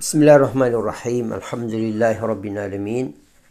بسم الله الرحمن الرحيم الحمد لله رب العالمين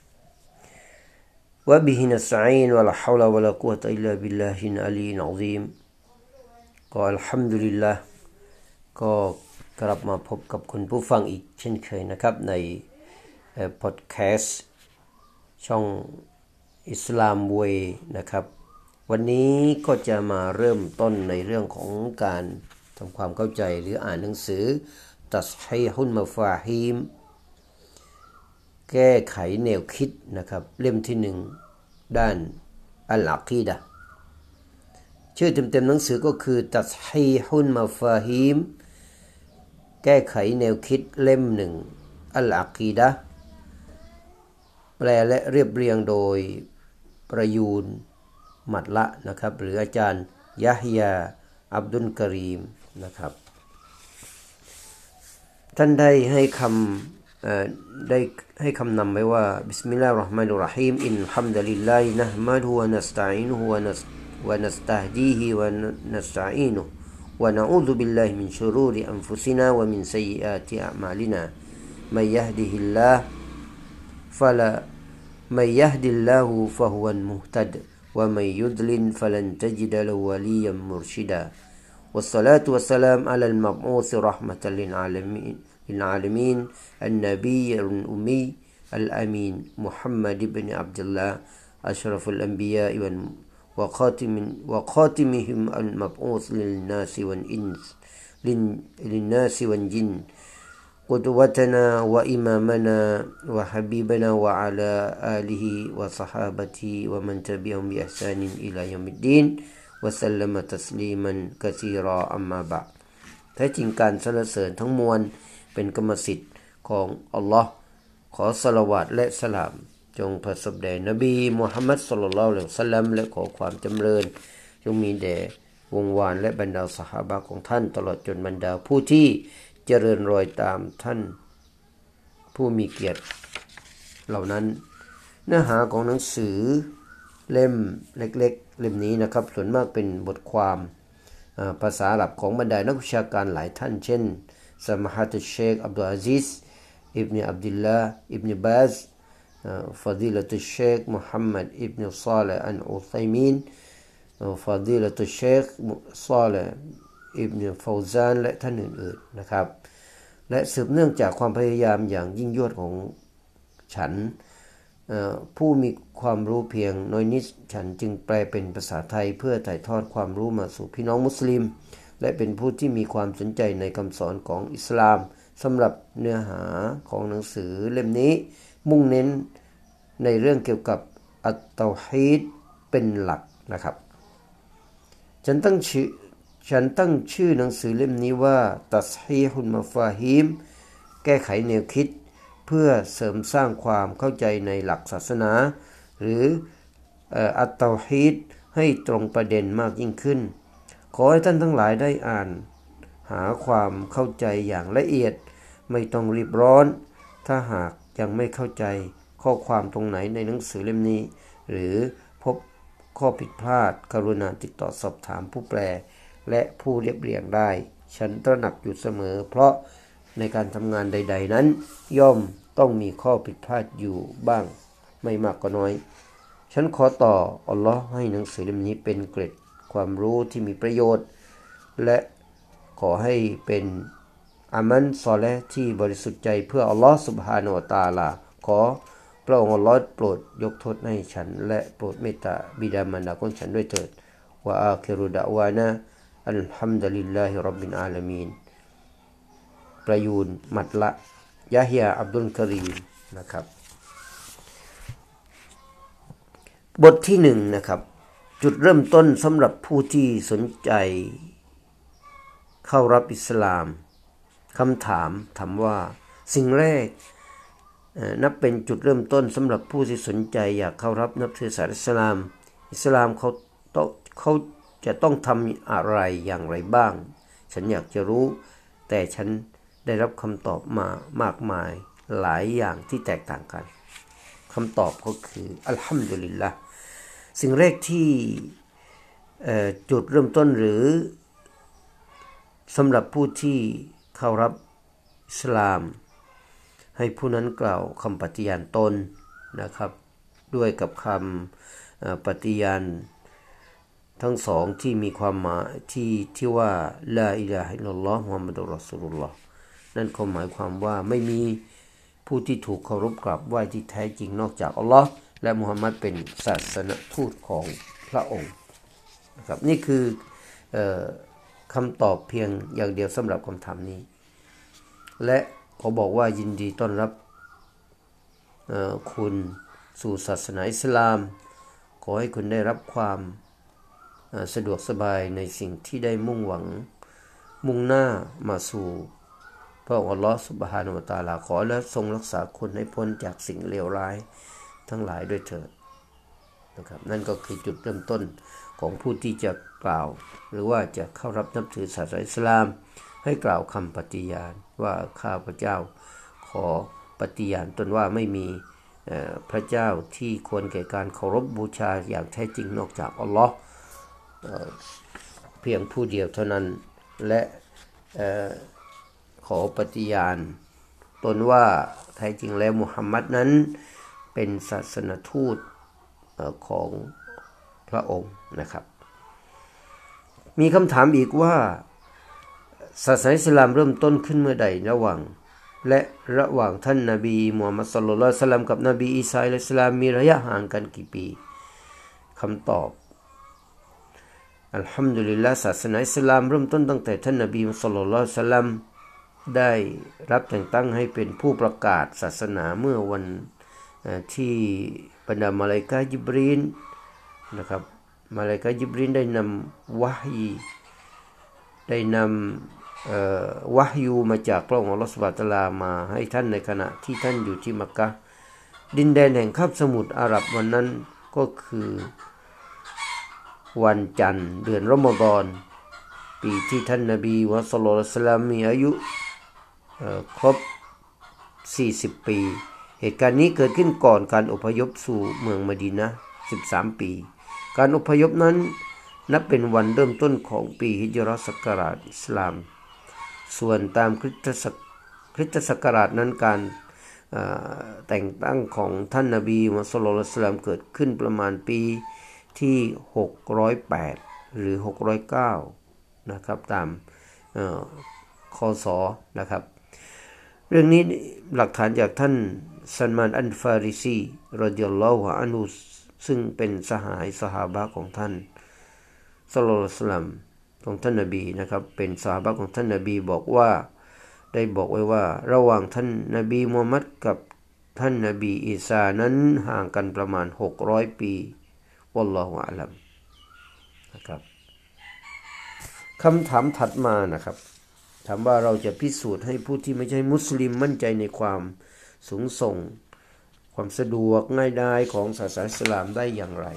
وبه نستعين ولا حول ولا قوة إلا بالله العلي العظيم ก็อัลฮัมดุลิลลาห์ก็กลับมาพบกับคุณผู้ฟังอีกเช่นเคยนะครับในพอดแคสต์ช่องอิสลามเวย์นะครับวันนี้ก็จะมาเริ่มต้นในเรื่องของการทำความเข้าใจหรืออ่านหนังสือตัศฮีฮุลมะฟาฮีมแก้ไขแนวคิดนะครับเล่มที่1ด้านอัลอะกีดะห์ชื่อเต็มๆหนังสือก็คือตัศฮีฮุลมะฟาฮีมแก้ไขแนวคิดเล่ม1อัลอะกีดะห์แปลและเรียบเรียงโดยประยูนมัดละนะครับหรืออาจารย์ยะฮยาอับดุลกะรีมนะครับท่านได้ให้คำนำไว้ว่าบิสมิลลาฮิรเราะห์มานิรเราะฮีมอินฮัมดุลิลลาฮินะห์มัดุฮุวะนัสตะอีนุฮุวะนัสตะฮดีฮิวะนัสตะอีนุวะนะอูซุบิลลาฮิมินชุรูริอันฟุซินาวะมินซัยยิอาติอะมาลินามัยยะฮดิฮิลลาฮ์มัยยะฮดิลลาฮุฟะฮุวัลมุฮตัดวะมัยยุฎลิลฟะลันตะญิดละฮูวะลียัมมุรชิดาوالصلاة والسلام على المبعوث رحمة للعالمين النبي الأمي الأمين محمد بن عبد الله أشرف الأنبياء وخاتمهم المبعوث للناس والجن قدوتنا وإمامنا وحبيبنا وعلى آله وصحابته ومن تبعهم بإحسان إلى يوم الدين وسلم تسليما كثيرا أما بعد แท้จริงการสรรเสริญทั้งมวลเป็นกรรมสิทธิ์ของอัลลอฮ์ขอศอลาวาตและสลามจงประสบแด่นบีมุฮัมมัดศ็อลลัลลอฮุอะลัยฮิวะซัลลัมและขอความจำเริญจงมีแด่วงวานและบรรดาซอฮาบะห์ของท่านตลอดจนบรรดาผู้ที่เจริญรอยตามท่านผู้มีเกียรติเหล่านั้นเนื้อหาของหนังสือเล่มเล็กๆเล่มนี้นะครับส่วนมากเป็นบทความภาษาอาหรับของบรรดานักวิชาการหลายท่านเช่นสมาฮะตุเชคอับดุลอาซิซอิบนุอับดุลลาห์อิบนุบาซฟาดิละตุเชคมุฮัมมัดอิบนุศอลิห์อัลอุซัยมีนฟาดิละตุเชคศอลิห์อิบนุฟาวซานและท่านอื่นๆนะครับและสืบเนื่องจากความพยายามอย่างยิ่งยวดของฉันผู้มีความรู้เพียงน้อยนิดฉันจึงแปลเป็นภาษาไทยเพื่อถ่ายทอดความรู้มาสู่พี่น้องมุสลิมและเป็นผู้ที่มีความสนใจในคำสอนของอิสลามสำหรับเนื้อหาของหนังสือเล่มนี้มุ่งเน้นในเรื่องเกี่ยวกับอัตเตาฮีดเป็นหลักนะครับฉันตั้งชื่อหนังสือเล่มนี้ว่าตัศฮีฮุลมะฟาฮีมแก้ไขแนวคิดเพื่อเสริมสร้างความเข้าใจในหลักศาสนาหรืออัตเตาฮีดให้ตรงประเด็นมากยิ่งขึ้นขอให้ท่านทั้งหลายได้อ่านหาความเข้าใจอย่างละเอียดไม่ต้องรีบร้อนถ้าหากยังไม่เข้าใจข้อความตรงไหนในหนังสือเล่มนี้หรือพบข้อผิดพลาดกรุณาติดต่อสอบถามผู้แปลและผู้เรียบเรียงได้ฉันตระหนักอยู่เสมอเพราะในการทำงานใดๆนั้นย่อมต้องมีข้อผิดพลาดอยู่บ้างไม่มากก็น้อยฉันขอต่ออัลลอฮ์ให้หนังสือเล่มนี้เป็นเกร็ดความรู้ที่มีประโยชน์และขอให้เป็นอามัลซอลิห์ที่บริสุทธิ์ใจเพื่ออัลลอฮ์ซุบฮานะฮูวะตะอาลาขอพระองค์อัลลอฮ์โปรดยกโทษให้ฉันและโปรดเมตตาบิดามารดาของฉันด้วยเถิดวะอาคิรุดะวานะอัลฮัมดุลิลลาฮิร็อบบิลอาลามีนประยูนมัดละยะฮยาอับดุลกะรีมนะครับบทที่1นะครับจุดเริ่มต้นสำหรับผู้ที่สนใจเข้ารับอิสลามคำถามว่าสิ่งแรกนับเป็นจุดเริ่มต้นสำหรับผู้ที่สนใจอยากเข้ารับนับถือศาสนาอิสลามเขาจะต้องทำอะไรอย่างไรบ้างฉันอยากจะรู้แต่ฉันได้รับคำตอบมามากมายหลายอย่างที่แตกต่างกันคำตอบก็คืออัลฮัมดุลิลละห์สิ่งแรกที่จุดเริ่มต้นหรือสำหรับผู้ที่เข้ารับอิสลามให้ผู้นั้นกล่าวคำปฏิญาณตนนะครับด้วยกับคำปฏิญาณทั้งสองที่มีความหมายที่ว่าลาอิลาฮะอิลลัลลอฮ์มุฮัมมัดุรรอซูลุลลอฮ์นั่นก็หมายความว่าไม่มีผู้ที่ถูกเคารพกราบไหว้ที่แท้จริงนอกจากอัลลอฮ์และมุฮัมมัดเป็นศาสนทูตของพระองค์นะครับนี่คือคำตอบเพียงอย่างเดียวสำหรับคำถามนี้และเขาบอกว่ายินดีต้อนรับคุณสู่ศาสนาอิสลามขอให้คุณได้รับความสะดวกสบายในสิ่งที่ได้มุ่งหวังมุ่งหน้ามาสู่พระองค์อัลเลาะห์ซุบฮานะฮูวะตะอาลาขอและทรงรักษาคุณให้พ้นจากสิ่งเลวร้ายทั้งหลายด้วยเถิดนะครับนั่นก็คือจุดเริ่มต้นของผู้ที่จะกล่าวหรือว่าจะเข้ารับนับถือศาสนาอิสลามให้กล่าวคำปฏิญาณว่าข้าพเจ้าขอปฏิญาณตนว่าไม่มีพระเจ้าที่ควรแก่การเคารพบูชาอย่างแท้จริงนอกจากอัลเลาะห์เพียงผู้เดียวเท่านั้นและขอปฏิญาณตนว่าแท้จริงแล้วมุฮัมมัดนั้นเป็นศาสนทูตของพระองค์นะครับมีคำถามอีกว่าศาสนาอิสลามเริ่มต้นขึ้นเมื่อใดระหว่างท่านนบีมูฮัมมัดศ็อลลัลลอฮุอะลัยฮิวะซัลลัมกับนบีอีสาอะลัยฮิสสลามมีระยะห่างกันกี่ปีคำตอบอัลฮัมดุลิลลาห์ศาสนาอิสลามเริ่มต้นตั้งแต่ท่านนบีศ็อลลัลลอฮุอะลัยฮิวะซัลลัมได้รับแต่งตั้งให้เป็นผู้ประกาศศาสนาเมื่อวันที่บรรดามาลาอิกะฮ์ญิบรีลนะครับมาลาอิกะฮ์ญิบรีลได้นำวะยูมาจากพระองค์อัลเลาะห์ซุบฮานะฮูวะตะอาลามาให้ท่านในขณะที่ท่านอยู่ที่มักกะฮ์ดินแดนแห่งคาบสมุทรอาหรับวันนั้นก็คือวันจันทร์เดือนรอมฎอนปีที่ท่านนบีมุฮัมมัดศ็อลลัลลอฮุอะลัยฮิวะซัลลัมมีอายุครบ40ปีเหตุการณ์นี้เกิดขึ้นก่อนการอพยพสู่เมืองมะดีนะห์13ปีการอพยพนั้นนับเป็นวันเริ่มต้นของปีฮิจเราะห์ศักราชอิสลามส่วนตามคริสตศักราชนั้นการแต่งตั้งของท่านนบีมุฮัมมัดศ็อลลัลลอฮุอะลัยฮิวะซัลลัมเกิดขึ้นประมาณปีที่608หรือ609นะครับตามคศนะครับเรื่องนี้หลักฐานจากท่านซัลมานอัลฟาริซีรอฎิยัลลอฮุอันฮุซึ่งเป็นสหายซอฮาบะห์ของท่านศ็อลลัลลอฮุอะลัยฮิวะซัลลัมของท่านนบีนะครับเป็นซอฮาบะห์ของท่านนบีบอกไว้ว่าระหว่างท่านนบีมูฮัมมัดกับท่านนบีอีสานั้นห่างกันประมาณ600ปีวัลลอฮุอะลัมนะครับคำถามถัดมานะครับถามว่าเราจะพิสูจน์ให้ผู้ที่ไม่ใช่มุสลิมมั่นใจในความสูงส่งความสะดวกง่ายดายของศาสนาอิสลามได้อย่างไร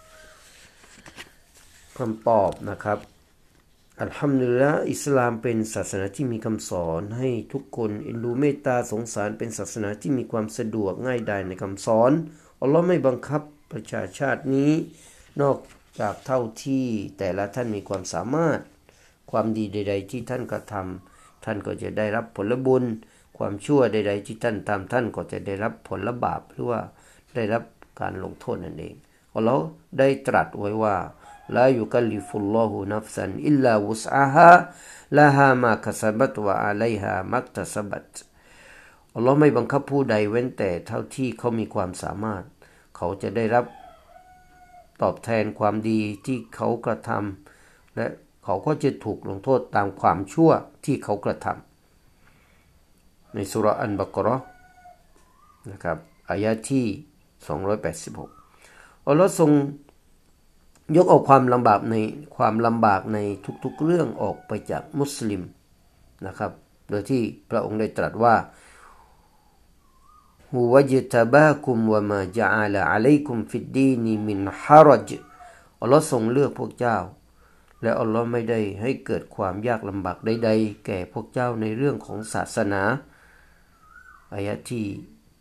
คำตอบนะครับอัลฮัมดุลิลละห์อิสลามเป็นศาสนาที่มีคำสอนให้ทุกคนเอ็นดูเมตตาสงสารเป็นศาสนาที่มีความสะดวกง่ายดายในคำสอนอัลเลาะห์ไม่บังคับประชาชาตินี้นอกจากเท่าที่แต่ละท่านมีความสามารถความดีใดๆที่ท่านกระทำท่านก็จะได้รับผลบุญความชั่วใดๆที่ท่านทำท่านก็จะได้รับผลบาปหรือว่าได้รับการลงโทษนั่นเองอัลเลาะห์ได้ตรัสไว้ว่าลายุกัลลิฟุลลอฮุนัฟซันอิลลาวุสอาฮาละฮามาคัสบัตวะอะลัยฮามักตะซะบัตอัลเลาะห์ไม่บังคับผู้ใดเว้นแต่เท่าที่เขามีความสามารถเขาจะได้รับตอบแทนความดีที่เขากระทำและเขาก็จะถูกลงโทษตามความชั่วที่เขากระทำในซูเราะห์อัลบะเกาะเราะห์นะครับอายะห์ที่286อัลเลาะห์ทรงยกเอาความลำบากในทุกๆเรื่องออกไปจากมุสลิมนะครับโดยที่พระองค์ได้ตรัสว่าฮุวะญตะบาคุมวะมาญะอะลาอะลัยกุมฟิดดีนมินฮะรจอัลเลาะห์ทรงเลือกพวกเจ้าและอัลเลาะห์ไม่ได้ให้เกิดความยากลำบากใดๆแก่พวกเจ้าในเรื่องของศาสนาอายะห์ที่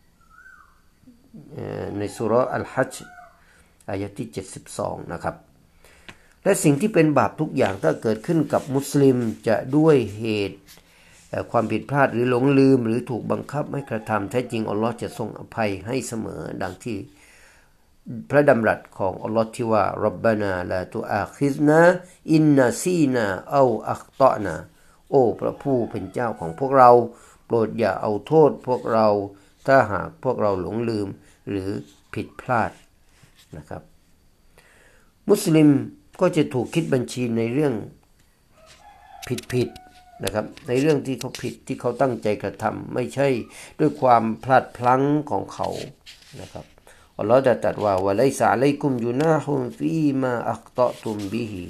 ในซูเราะห์อัลฮัจญ์อายะห์ที่72นะครับและสิ่งที่เป็นบาปทุกอย่างถ้าเกิดขึ้นกับมุสลิมจะด้วยเหตุความผิดพลาดหรือหลงลืมหรือถูกบังคับให้กระทำแท้จริงอัลลอฮ์จะทรงอภัยให้เสมอดังที่พระดำรัสของอัลลอฮ์ที่ว่ารับบานาลาตุอาคิซนาอินนาซีนาเอาอัคตอนาโอ้พระผู้เป็นเจ้าของพวกเราโปรดอย่าเอาโทษพวกเราถ้าหากพวกเราหลงลืมหรือผิดพลาดนะครับมุสลิมก็จะถูกคิดบัญชีในเรื่องผิดนะครับในเรื่องที่เขาผิดที่เขาตั้งใจกระทำไม่ใช่ด้วยความพลาดพลั้งของเขานะครับอัลลอฮฺได้ตรัสว่าวะไลซะอะลัยกุมยุนาฮุฟีมาอัคตอตุมบิฮิ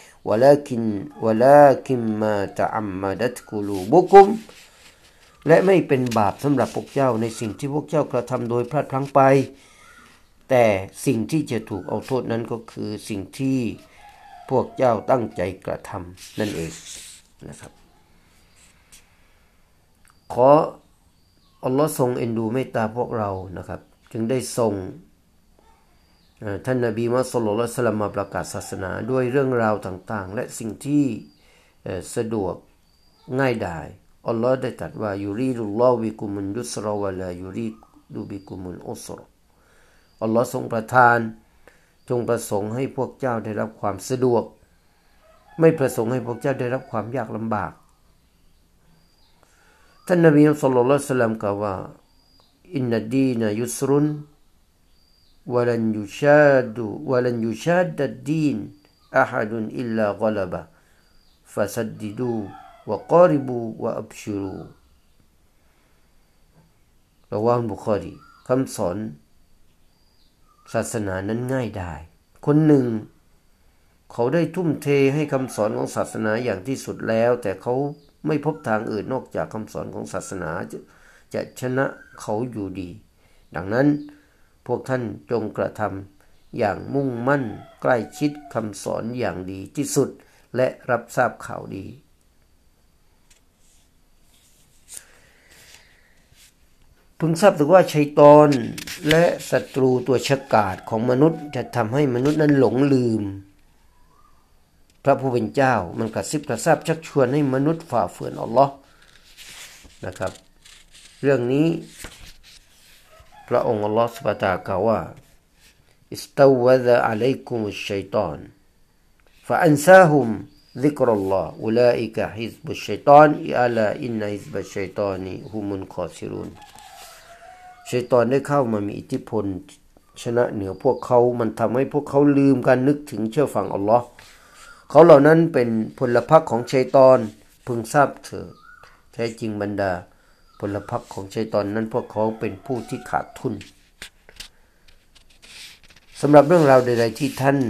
วะลาคินมาตะอัมมะดัตกุลูบุกุมและไม่เป็นบาปสำหรับพวกเจ้าในสิ่งที่พวกเจ้ากระทำโดยพลาดพลั้งไปแต่สิ่งที่จะถูกเอาโทษนั้นก็คือสิ่งที่พวกเจ้าตั้งใจกระทำนั่นเองนะครับขออัลลอฮ์ทรงเอ็นดูเมตตาพวกเรานะครับจึงได้ส่งท่านนบีมุฮัมมัดศ็อลลัลลอฮุอะลัยฮิวะซัลลัมมาประกาศศาสนาด้วยเรื่องราวต่างๆและสิ่งที่สะดวกง่ายดายอัลลอฮ์ได้ตรัสว่ายูรีดุลลอฮุบิกุมุลยุสรวะลายูรีดุบิกุมุลอุสรอัลลอฮ์ทรงประทานจงประสงค์ให้พวกเจ้าได้รับความสะดวกไม่ประสงค์ให้พวกเจ้าได้รับความยากลำบากท่านนบีศ็อลลัลลอฮุอะลัยฮิวะซัลลัมกล่าวว่าอินนัดดีนะยุสรุนولن يشاد الدين أحد إلا غلبه فسددوا وقاربوا وأبشروا รอวาห์บุคอรีคำสอนศาสนานั้นง่ายดายคนหนึ่งเขาได้ทุ่มเทให้คำสอนของศาสนาอย่างที่สุดแล้วแต่เขาไม่พบทางอื่นนอกจากคำสอนของศาสนาจะชนะเขาอยู่ดีดังนั้นพวกท่านจงกระทำอย่างมุ่งมั่นใกล้ชิดคำสอนอย่างดีที่สุดและรับทราบข่าวดีพึงทราบถึงว่าชัยฏอนและศัตรูตัวฉกาจของมนุษย์จะทำให้มนุษย์นั้นหลงลืมพระผู้เป็นเจ้ามันกระซิบกระซาบชักชวนให้มนุษย์ฝ่าฝืนอัลลอฮ์นะครับเรื่องนี้พระองค์อัลลอฮฺซุบฮานะฮูวะตะอาลากล่าวว่าอิสตาวะซะอะลัยกุมุชชัยฏอนฟะอันซาฮุมซิกรุลลอฮ์อุลาอิกะฮิซบุชชัยฏอนอะลาอินนะฮิซบัชชัยฏอนิฮุมุลคอซิรุนชัยฏอนได้เข้ามามีอิทธิพลชนะเหนือพวกเขามันทำให้พวกเขาลืมการนึกถึงเชื่อฟังอัลลอฮ์เขาเหล่านั้นเป็นพลพรรคของชัยฏอนพึงทราบเถิดแท้จริงบรรดาพลพรรคของชัยฏอนนั้นพวกเขาเป็นผู้ที่ขาดทุนสำหรับเรื่องราวใดๆที่ท่าน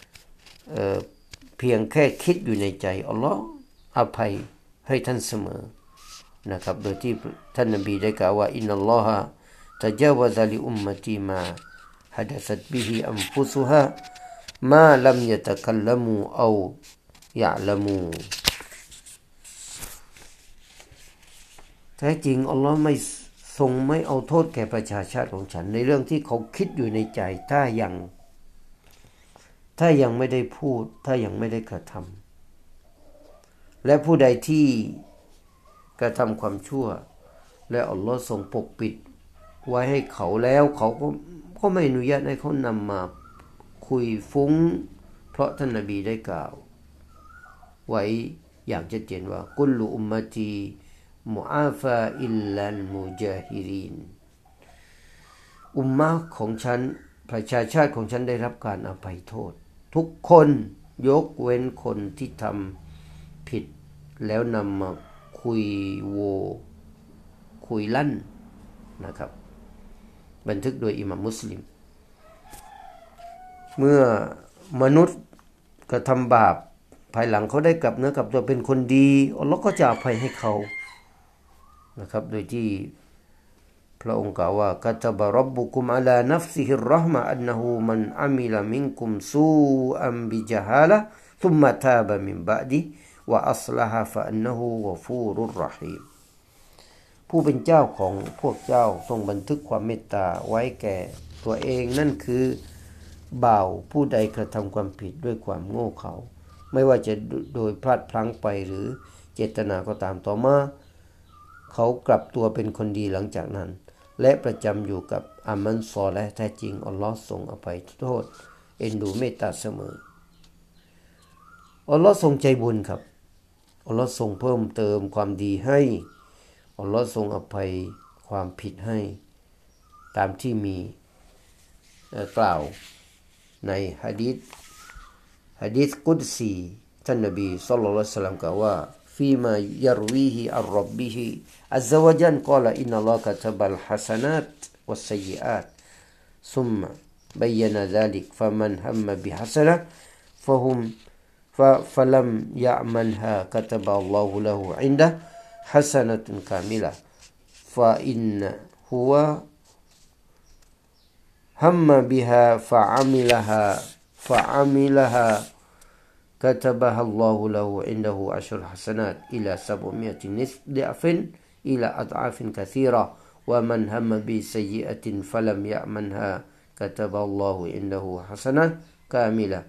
เพียงแค่คิดอยู่ในใจอัลลอฮ์อภัยให้ท่านเสมอนะครับโดยที่ท่านนบีได้กล่าวว่าอินนัลลอฮะตะญาวะซะลิอุมมะตีมาฮะดะซัตบิฮิอันฟุซุฮามาลัมยะตะกัลลัมูเอายะละมูแท้จริงอัลลอฮ์ไม่เอาโทษแก่ประชาชาติของฉันในเรื่องที่เขาคิดอยู่ในใจถ้ายังไม่ได้พูดถ้ายังไม่ได้กระทำและผู้ใดที่กระทำความชั่วและอัลลอฮ์ทรงปกปิดไว้ให้เขาแล้วเขาก็ไม่อนุญาตให้เขานำมาคุยฟุ้งเพราะท่านนบีได้กล่าวไว้อย่างชัดเจนว่ากุลลุอุมมะตีมุอาฟาอิลลัลมุญาฮิรินอุมมะของฉันประชาชาติของฉันได้รับการอภัยโทษทุกคนยกเว้นคนที่ทำผิดแล้วนำมาคุยลั่นนะครับบันทึกโดยอิหม่ามมุสลิมเมื่อมนุษย์กระทำบาปภายหลังเขาได้กลับเนื้อกลับตัวเป็นคนดีอัลเลาะห์ก็จะอภัยให้เขานะครับโดยที่พระองค์กล่าวว่ากะตะบะร็อบบุกุมอะลานัฟซิฮิรเราะห์มะอันนะฮูมันอะมิลมินกุมซูอันบิญะฮาละซุมมะตาบะมินบะดิวะอัศละฮะฟะอันนะฮูกอฟูรุรเราะฮีมผู้เป็นเจ้าของพวกเจ้าทรงบันทึกความเมตตาไว้แก่ตัวเองนั่นคือบ่าวผู้ใดกระทำความผิดด้วยความโง่เขลาไม่ว่าจะโดยพลาดพลั้งไปหรือเจตนาก็ตามต่อมาเขากลับตัวเป็นคนดีหลังจากนั้นและประจำอยู่กับอามัลซอลิห์แท้จริงอัลลอฮ์ทรงอภัยโทษเอ็นดูเมตตาเสมออัลลอฮ์ทรงใจบุญครับอัลลอฮ์ทรงเพิ่มเติมความดีให้อัลลอฮ์ทรงอภัยความผิดให้ตามที่มีกล่าวในหะดีษกุดซีท่านนบีศ็อลลัลลอฮุอะลัยฮิวะซัลลัมกล่าวว่าفيما يرويه عن ربه عز وجل قال إن الله كتب الحسنات والسيئات ثم بين ذلك فمن هم بحسنة فلم يعملها كتب الله له عنده حسنة كاملة فإن هو هم بها فعملها كتبها الله له عنده 10 حسنات إلى 700 ضعف إلى أضعاف كثيرة ومن هم بسيئة فلم يعملها كتب الله عنده حسنة كاملة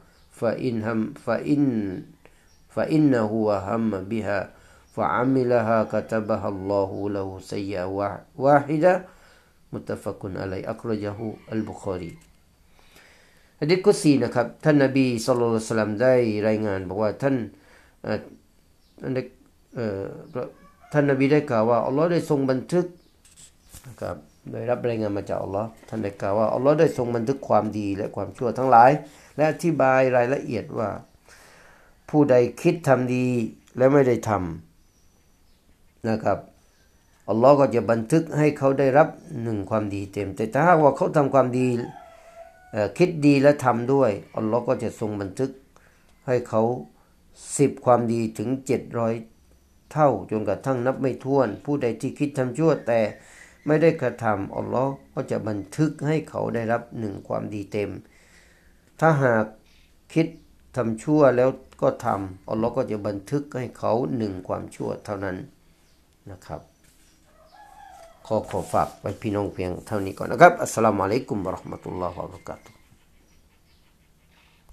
فإنه هم بها فعملها كتبها الله له سيئة واحدة متفق عليه أخرجه البخاريหะดีษกุดซีนะครับท่านนบีศ็อลลัลลอฮุอะลัยฮิวะซัลลัมได้รายงานบอกว่าท่านนบีได้กล่าวว่าอัลเลาะห์ได้ทรงบันทึกนะครับได้รับรายงานมาจากอัลเลาะห์ท่านได้กล่าวว่าอัลเลาะห์ได้ทรงบันทึกความดีและความชั่วทั้งหลายและอธิบายรายละเอียดว่าผู้ใดคิดทำดีและไม่ได้ทำนะครับอัลเลาะห์ก็จะบันทึกให้เขาได้รับ1ความดีเต็มแต่ถ้าหากว่าเขาทำความดีคิดดีและทำด้วยอัลเลาะห์ก็จะทรงบันทึกให้เขา10ความดีถึง700เท่าจนกระทั่งนับไม่ถ้วนผู้ใดที่คิดทำชั่วแต่ไม่ได้กระทำอัลเลาะห์ก็จะบันทึกให้เขาได้รับ1ความดีเต็มถ้าหากคิดทำชั่วแล้วก็ทำอัลเลาะห์ก็จะบันทึกให้เขา1ความชั่วเท่านั้นนะครับขอฝากไว้พี่น้องเพียงเท่านี้ก่อนนะครับอัสสลามุอะลัยกุมวะเราะห์มะตุลลอฮิวะบะเราะกาตุฮ์